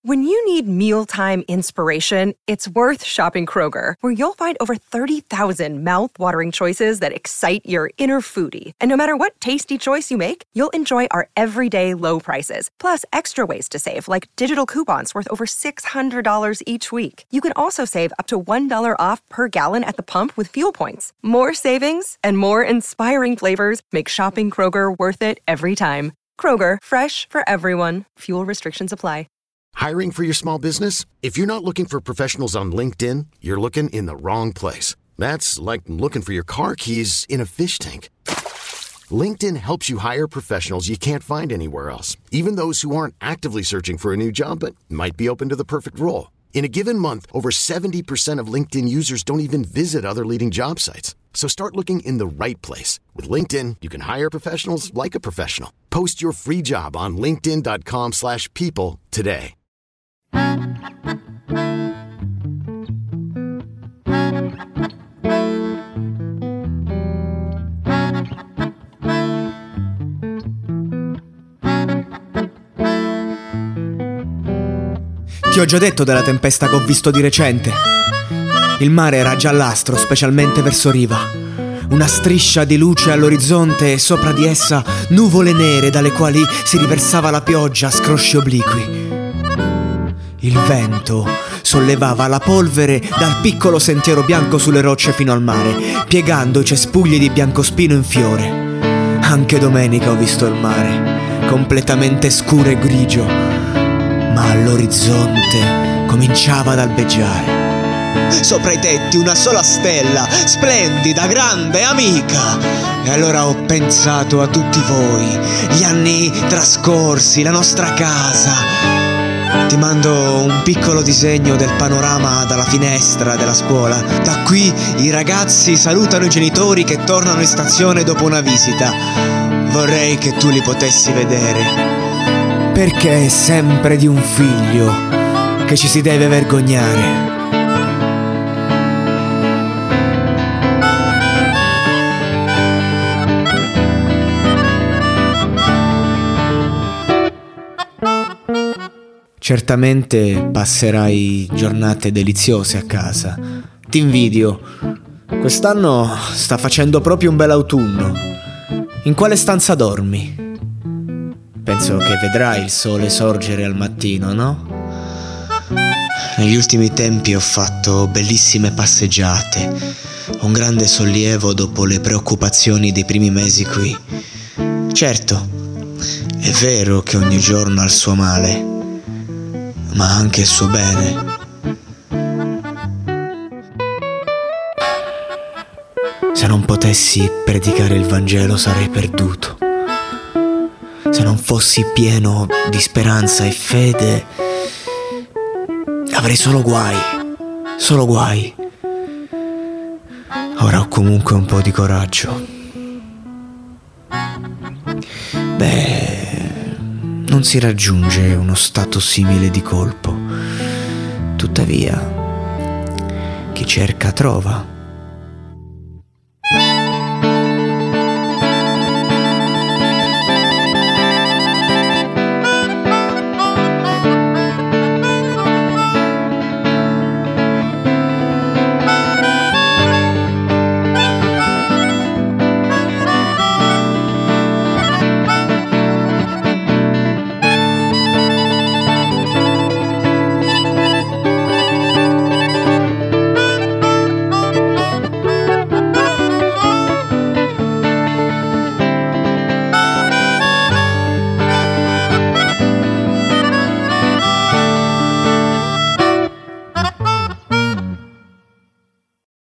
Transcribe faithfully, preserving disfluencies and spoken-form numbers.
When you need mealtime inspiration, it's worth shopping Kroger, where you'll find over thirty thousand mouth-watering choices that excite your inner foodie. And no matter what tasty choice you make, you'll enjoy our everyday low prices, plus extra ways to save, like digital coupons worth over six hundred dollars each week. You can also save up to one dollar off per gallon at the pump with fuel points. More savings and more inspiring flavors make shopping Kroger worth it every time. Kroger, fresh for everyone. Fuel restrictions apply. Hiring for your small business? If you're not looking for professionals on LinkedIn, you're looking in the wrong place. That's like looking for your car keys in a fish tank. LinkedIn helps you hire professionals you can't find anywhere else, even those who aren't actively searching for a new job but might be open to the perfect role. In a given month, over seventy percent of LinkedIn users don't even visit other leading job sites. So start looking in the right place. With LinkedIn, you can hire professionals like a professional. Post your free job on linkedin.com slash people today. Ti ho già detto della tempesta che ho visto di recente. Il mare era giallastro, specialmente verso riva. Una striscia di luce all'orizzonte e sopra di essa nuvole nere dalle quali si riversava la pioggia a scrosci obliqui. Il vento sollevava la polvere dal piccolo sentiero bianco sulle rocce fino al mare, piegando i cespugli di biancospino in fiore. Anche domenica ho visto il mare, completamente scuro e grigio, ma all'orizzonte cominciava ad albeggiare. Sopra i tetti una sola stella, splendida, grande, amica. E allora ho pensato a tutti voi, gli anni trascorsi, la nostra casa. Ti mando un piccolo disegno del panorama dalla finestra della scuola. Da qui i ragazzi salutano i genitori che tornano in stazione dopo una visita. Vorrei che tu li potessi vedere, perché è sempre di un figlio che ci si deve vergognare. Certamente passerai giornate deliziose a casa. Ti invidio. Quest'anno sta facendo proprio un bel autunno. In quale stanza dormi? Penso che vedrai il sole sorgere al mattino, no? Negli ultimi tempi ho fatto bellissime passeggiate. Un grande sollievo dopo le preoccupazioni dei primi mesi qui. Certo, è vero che ogni giorno ha il suo male, ma anche il suo bene. Se non potessi predicare il Vangelo sarei perduto. Se non fossi pieno di speranza e fede, avrei solo guai, solo guai. Ora ho comunque un po' di coraggio. Beh, non si raggiunge uno stato simile di colpo. Tuttavia, chi cerca trova.